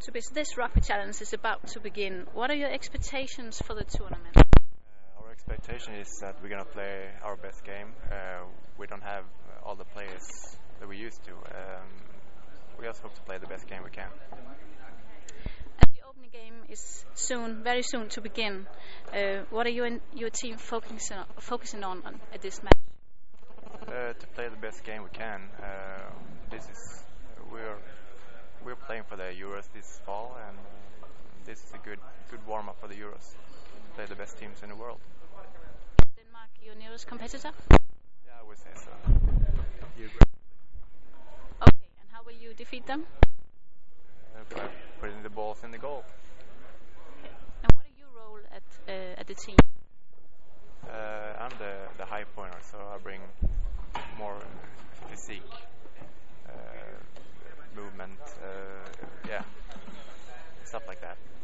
Tobias, this rugby challenge is about to begin. What are your expectations for the tournament? Our expectation is that we're going to play our best game. We don't have all the players that we used to. We just hope to play the best game we can. And the opening game is very soon to begin. What are you and your team focusing on at this match? To play the best game we can. We're playing for the Euros this fall, and this is a good warm-up for the Euros. Play the best teams in the world. Denmark your nearest competitor? Yeah, I would say so. You agree? Okay, and how will you defeat them? By putting the balls in the goal. Okay. And what are your role at the team? I'm the high pointer, so I bring more physique, movement, stuff like that.